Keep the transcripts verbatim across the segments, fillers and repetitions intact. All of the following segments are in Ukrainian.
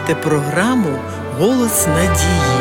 слухаєте програму «Голос надії».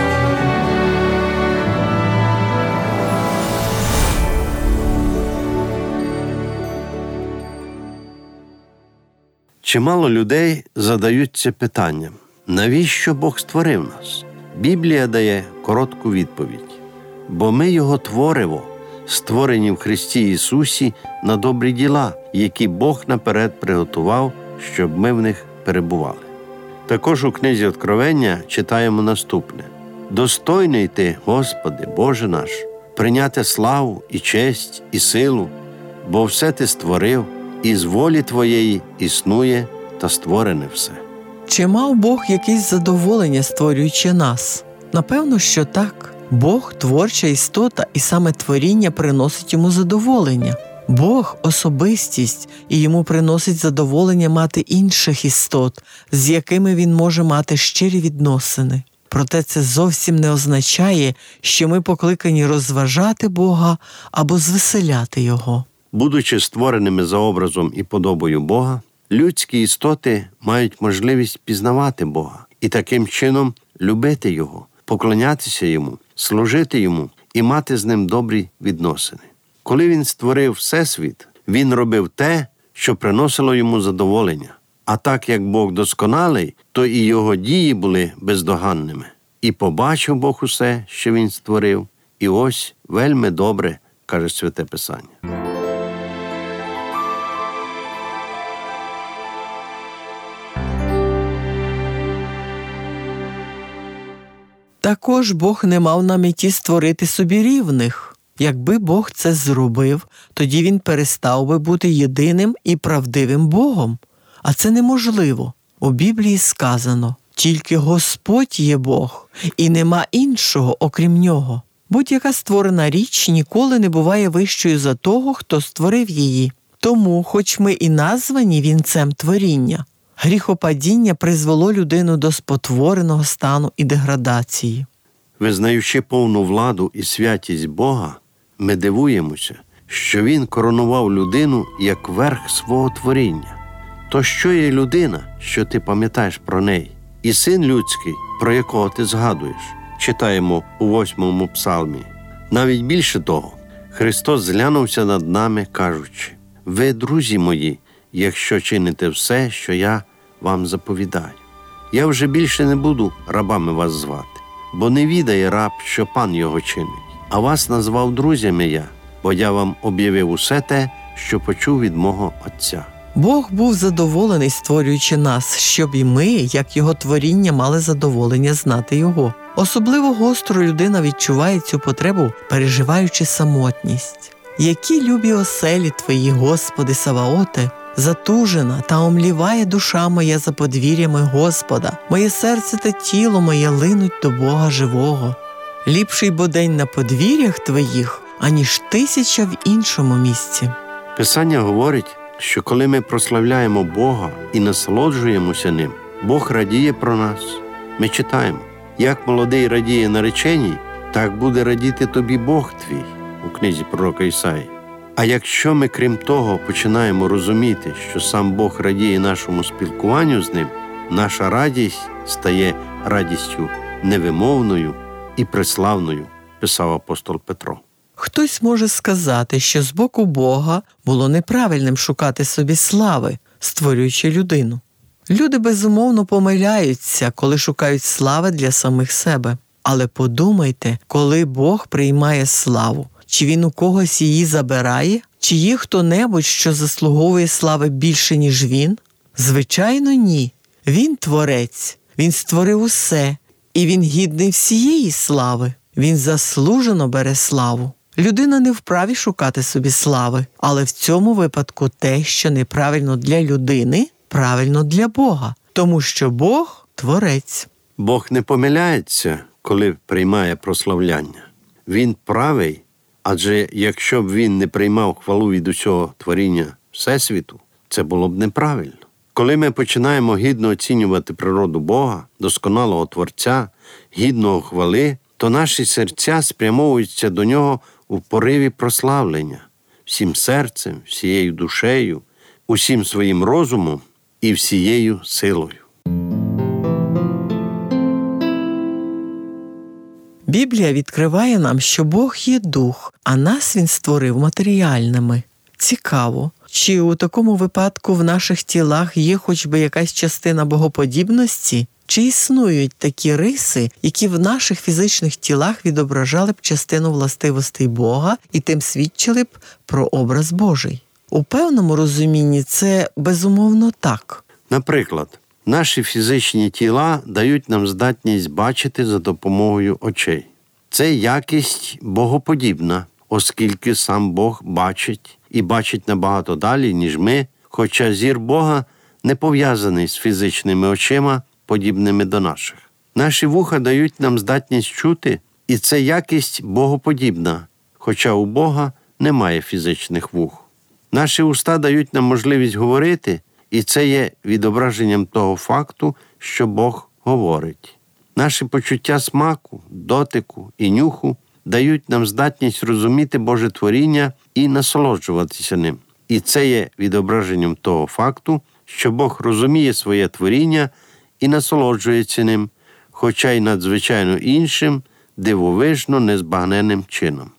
Чимало людей задаються питанням, навіщо Бог створив нас? Біблія дає коротку відповідь. Бо ми Його твориво, створені в Христі Ісусі на добрі діла, які Бог наперед приготував, щоб ми в них перебували. Також у книзі Откровення читаємо наступне. «Достойний ти, Господи, Боже наш, прийняти славу і честь і силу, бо все ти створив, і з волі Твоєї існує та створене все». Чи мав Бог якесь задоволення, створюючи нас? Напевно, що так. Бог – творча істота, і саме творіння приносить йому задоволення. Бог – особистість, і йому приносить задоволення мати інших істот, з якими він може мати щирі відносини. Проте це зовсім не означає, що ми покликані розважати Бога або звеселяти Його. Будучи створеними за образом і подобою Бога, людські істоти мають можливість пізнавати Бога і таким чином любити Його, поклонятися Йому, служити Йому і мати з Ним добрі відносини. Коли Він створив Всесвіт, Він робив те, що приносило Йому задоволення. А так як Бог досконалий, то і Його дії були бездоганними. І побачив Бог усе, що Він створив, і ось вельми добре, каже Святе Писання. Також Бог не мав на меті створити собі рівних. Якби Бог це зробив, тоді Він перестав би бути єдиним і правдивим Богом. А це неможливо. У Біблії сказано, тільки Господь є Бог, і нема іншого, окрім Нього. Будь-яка створена річ ніколи не буває вищою за того, хто створив її. Тому, хоч ми і названі вінцем творіння, гріхопадіння призвело людину до спотвореного стану і деградації. Визнаючи повну владу і святість Бога, ми дивуємося, що Він коронував людину як верх свого творіння. То що є людина, що ти пам'ятаєш про неї? І син людський, про якого ти згадуєш? Читаємо у восьмому псалмі. Навіть більше того, Христос зглянувся над нами, кажучи, «Ви, друзі мої, якщо чините все, що я вам заповідаю. Я вже більше не буду рабами вас звати, бо не відає раб, що пан його чинить. А вас назвав друзями я, бо я вам об'явив усе те, що почув від мого Отця». Бог був задоволений, створюючи нас, щоб і ми, як Його творіння, мали задоволення знати Його. Особливо гостро людина відчуває цю потребу, переживаючи самотність. Які любі оселі Твої, Господи Саваоте, затужена та омліває душа моя за подвір'ями Господа. Моє серце та тіло моє линуть до Бога живого. Ліпший бо день на подвір'ях Твоїх, аніж тисяча в іншому місці. Писання говорить, що коли ми прославляємо Бога і насолоджуємося Ним, Бог радіє про нас. Ми читаємо, як молодий радіє нареченій, так буде радіти тобі Бог твій, у книзі пророка Ісаї. А якщо ми, крім того, починаємо розуміти, що сам Бог радіє нашому спілкуванню з Ним, наша радість стає радістю невимовною і преславною, писав апостол Петро. Хтось може сказати, що з боку Бога було неправильним шукати собі слави, створюючи людину. Люди, безумовно, помиляються, коли шукають слави для самих себе. Але подумайте, коли Бог приймає славу, чи Він у когось її забирає? Чи є хто-небудь, що заслуговує слави більше, ніж Він? Звичайно, ні. Він творець, Він створив усе, і Він гідний всієї слави. Він заслужено бере славу. Людина не вправі шукати собі слави, але в цьому випадку те, що неправильно для людини, правильно для Бога, тому що Бог – творець. Бог не помиляється, коли приймає прославляння. Він правий, адже якщо б Він не приймав хвалу від усього творіння Всесвіту, це було б неправильно. Коли ми починаємо гідно оцінювати природу Бога, досконалого Творця, гідного хвали, то наші серця спрямовуються до Нього у пориві прославлення, всім серцем, всією душею, усім своїм розумом і всією силою. Біблія відкриває нам, що Бог є дух, а нас Він створив матеріальними. Цікаво, чи у такому випадку в наших тілах є хоч би якась частина богоподібності? Чи існують такі риси, які в наших фізичних тілах відображали б частину властивостей Бога і тим свідчили б про образ Божий? У певному розумінні це безумовно так. Наприклад, наші фізичні тіла дають нам здатність бачити за допомогою очей. Це якість богоподібна, оскільки сам Бог бачить і бачить набагато далі, ніж ми, хоча зір Бога не пов'язаний з фізичними очима, подібними до наших. Наші вуха дають нам здатність чути, і це якість богоподібна, хоча у Бога немає фізичних вух. Наші уста дають нам можливість говорити, і це є відображенням того факту, що Бог говорить. Наші почуття смаку, дотику і нюху дають нам здатність розуміти Боже творіння і насолоджуватися ним. І це є відображенням того факту, що Бог розуміє своє творіння і насолоджується ним, хоча й надзвичайно іншим, дивовижно незбагненним чином.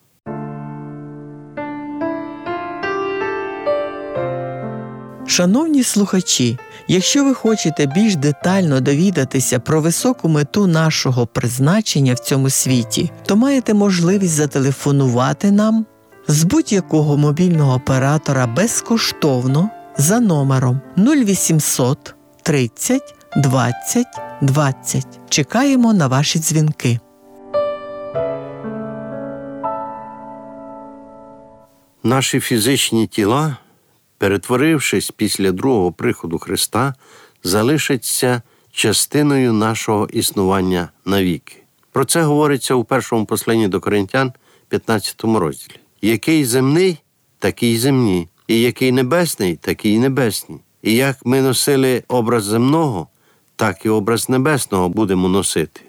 Шановні слухачі, якщо ви хочете більш детально довідатися про високу мету нашого призначення в цьому світі, то маєте можливість зателефонувати нам з будь-якого мобільного оператора безкоштовно за номером нуль вісімсот тридцять двадцять двадцять. Чекаємо на ваші дзвінки. Наші фізичні тіла, перетворившись після другого приходу Христа, залишаться частиною нашого існування навіки. Про це говориться у першому посланні до Коринтян, п'ятнадцятому розділі. Який земний, такий земні, і який небесний, такий небесні. І як ми носили образ земного, так і образ небесного будемо носити.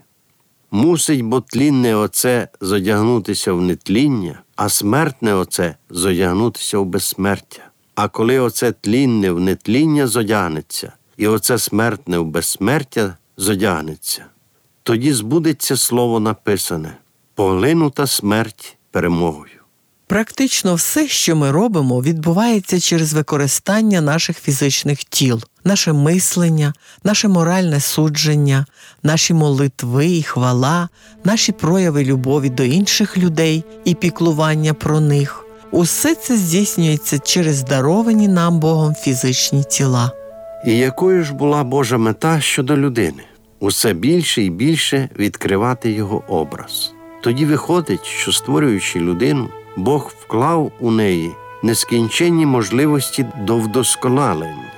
Мусить бо тлінне оце зодягнутися в нетління, а смертне оце зодягнутися в безсмертя. А коли оце тлінне в нетління зодягнеться, і оце смертне в безсмертя зодягнеться, тоді збудеться слово написане «Поглинута смерть перемогою». Практично все, що ми робимо, відбувається через використання наших фізичних тіл. Наше мислення, наше моральне судження, наші молитви і хвала, наші прояви любові до інших людей і піклування про них. Усе це здійснюється через даровані нам Богом фізичні тіла. І якою ж була Божа мета щодо людини? Усе більше і більше відкривати його образ. Тоді виходить, що створюючи людину, Бог вклав у неї нескінченні можливості до вдосконалення.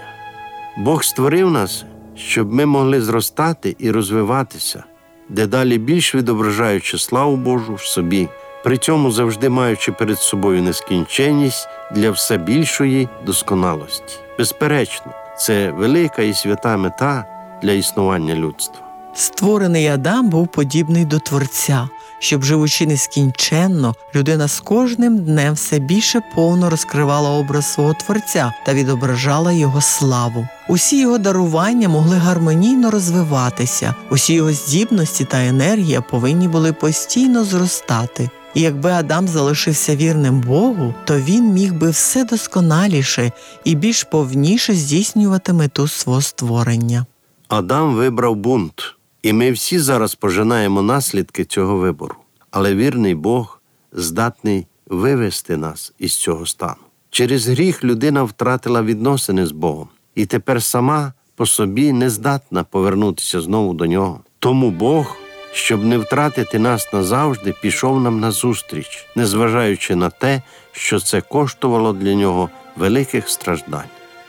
Бог створив нас, щоб ми могли зростати і розвиватися, дедалі більш відображаючи славу Божу в собі, при цьому завжди маючи перед собою нескінченність для все більшої досконалості. Безперечно, це велика і свята мета для існування людства. Створений Адам був подібний до Творця, щоб, живучи нескінченно, людина з кожним днем все більше повно розкривала образ свого Творця та відображала його славу. Усі його дарування могли гармонійно розвиватися, усі його здібності та енергія повинні були постійно зростати. І якби Адам залишився вірним Богу, то він міг би все досконаліше і більш повніше здійснювати мету свого створення. Адам вибрав бунт, і ми всі зараз пожинаємо наслідки цього вибору. Але вірний Бог здатний вивести нас із цього стану. Через гріх людина втратила відносини з Богом, і тепер сама по собі не здатна повернутися знову до Нього. Тому Бог, щоб не втратити нас назавжди, пішов нам назустріч, незважаючи на те, що це коштувало для Нього великих страждань.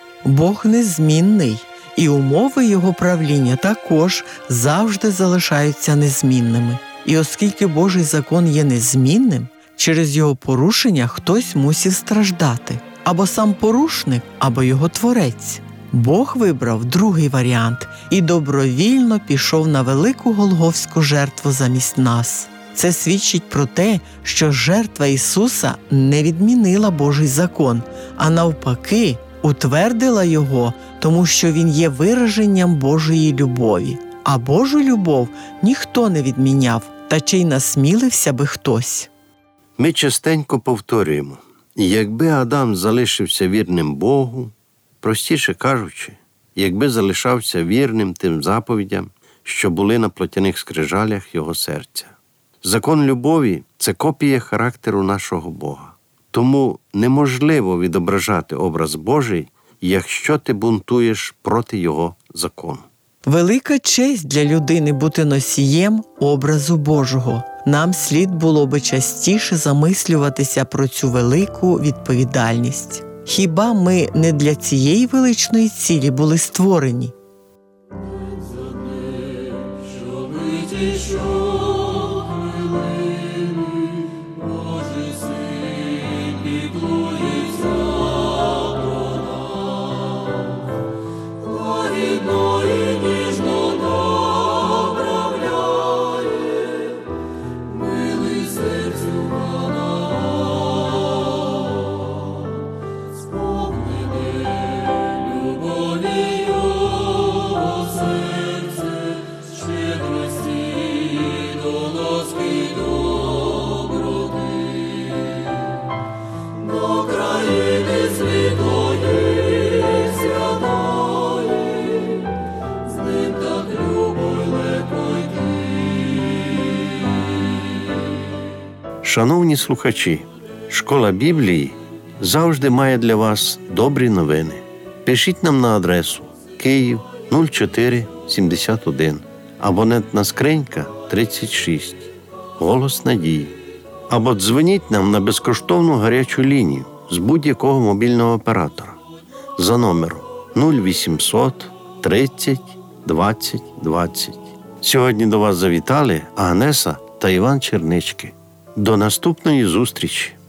Бог незмінний, і умови Його правління також завжди залишаються незмінними. І оскільки Божий закон є незмінним, через його порушення хтось мусив страждати. Або сам порушник, або його творець. Бог вибрав другий варіант і добровільно пішов на велику голгофську жертву замість нас. Це свідчить про те, що жертва Ісуса не відмінила Божий закон, а навпаки утвердила його, тому що Він є вираженням Божої любові. А Божу любов ніхто не відміняв, Та чи й насмілився би хтось? Ми частенько повторюємо, якби Адам залишився вірним Богу, простіше кажучи, якби залишався вірним тим заповідям, що були на плотяних скрижалях його серця. Закон любові – це копія характеру нашого Бога. Тому неможливо відображати образ Божий, якщо ти бунтуєш проти його закону. Велика честь для людини бути носієм образу Божого. Нам слід було би частіше замислюватися про цю велику відповідальність. Хіба ми не для цієї величної цілі були створені? Шановні слухачі, Школа Біблії завжди має для вас добрі новини. Пишіть нам на адресу Київ нуль чотири сімдесят один, абонентна скринька тридцять шість, Голос Надії. Або дзвоніть нам на безкоштовну гарячу лінію з будь-якого мобільного оператора за номером нуль вісімсот тридцять двадцять двадцять. Сьогодні до вас завітали Агнеса та Іван Чернички. До наступної зустрічі!